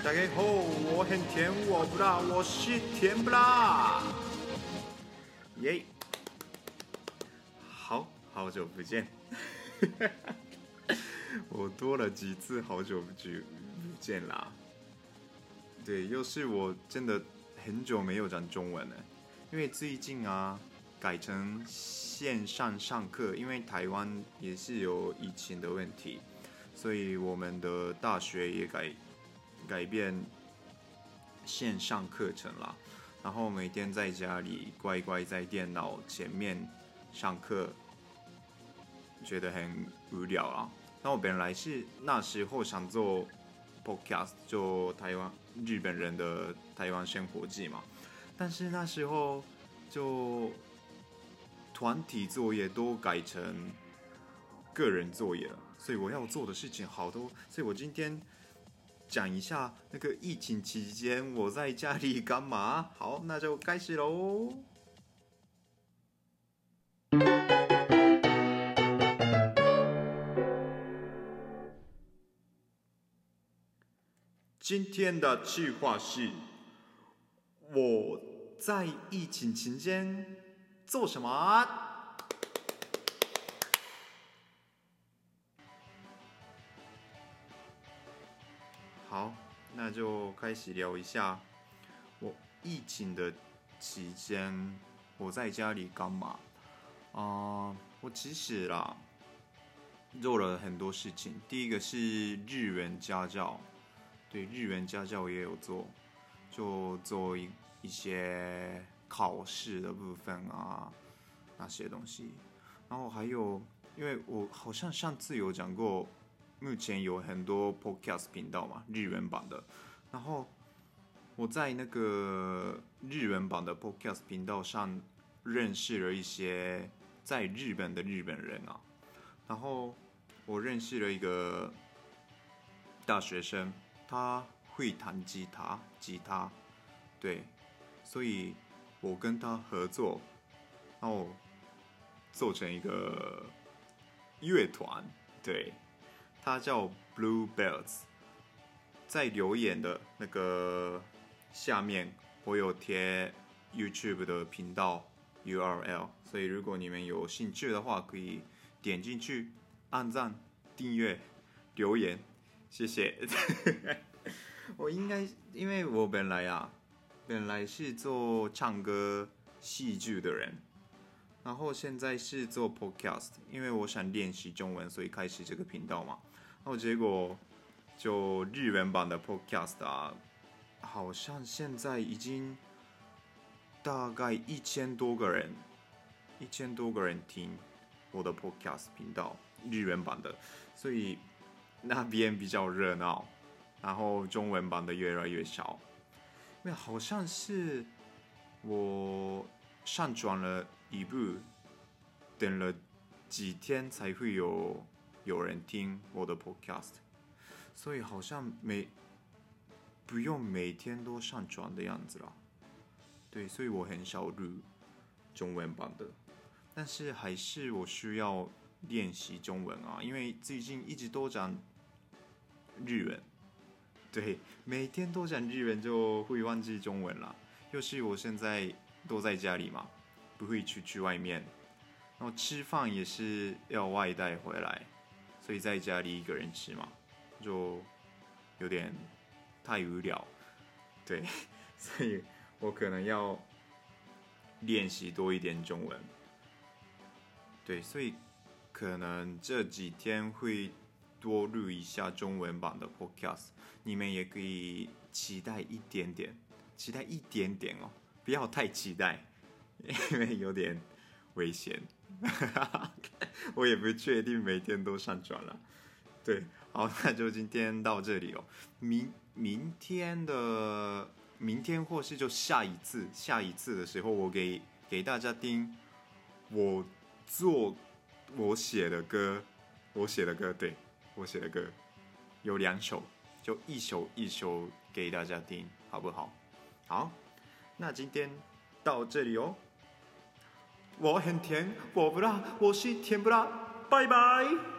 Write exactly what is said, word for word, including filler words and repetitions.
大家好，我很甜，我不辣，我是甜不辣。耶、yeah ！好好久不见，我多了几次好久不见啦。对，又是我真的很久没有讲中文了，因为最近啊改成线上上课，因为台湾也是有疫情的问题，所以我们的大学也改改变线上课程啦。然后每天在家里乖乖在电脑前面上课，觉得很无聊啊。那我本来是那时候想做 podcast， 就台湾日本人的台湾生活记嘛，但是那时候就团体作业都改成个人作业了，所以我要做的事情好多，所以我今天讲一下那个疫情期间我在家里干嘛。好，那就开始喽。今天的计划是我在疫情期间做什么？好，那就开始聊一下我疫情的期间我在家里干嘛。啊、呃，我其实啦做了很多事情。第一个是日文家教，对，日文家教也有做，就做一一些考试的部分啊那些东西。然后还有，因为我好像上次有讲过，目前有很多 podcast 频道嘛，日文版的。然后我在那个日文版的 podcast 频道上认识了一些在日本的日本人啊。然后我认识了一个大学生，他会弹吉他，吉他，对，所以我跟他合作，然后做成一个乐团，对，他叫 Bluebells。在留言的那个下面，我有贴 YouTube 的频道 U R L， 所以如果你们有兴趣的话，可以点进去按赞、订阅、留言，谢谢。我应该，因为我本来啊，本来是做唱歌、戏剧的人，然后现在是做 podcast， 因为我想练习中文，所以开始这个频道嘛。然后结果就日文版的 podcast 啊，好像现在已经大概一千多个人，一千多个人听我的 podcast 频道，日文版的，所以那边比较热闹，然后中文版的越来越少，因为好像是我上传了一部，等了几天才会有有人听我的 podcast， 所以好像每不用每天都上传的样子啦。对，所以我很少录中文版的，但是还是我需要练习中文啊，因为最近一直都讲日文，对，每天都讲日文就会忘记中文啦。又是我现在都在家里嘛，不会出去外面，然后吃饭也是要外带回来，所以在家里一个人吃嘛，就有点太无聊，对，所以我可能要练习多一点中文，对，所以可能这几天会多录一下中文版的 podcast， 你们也可以期待一点点，期待一点点哦，不要太期待，因为有点危险。我也不确定每天都上传了。对，好，那就今天到这里哦。明明天的明天或是就下一次下一次的时候，我给给大家听我做我写的歌，我写的歌，对，我写的歌有两首，就一首一首给大家听，好不好？好，那今天到这里哦。我很甜，我不辣，我是甜不辣，拜拜。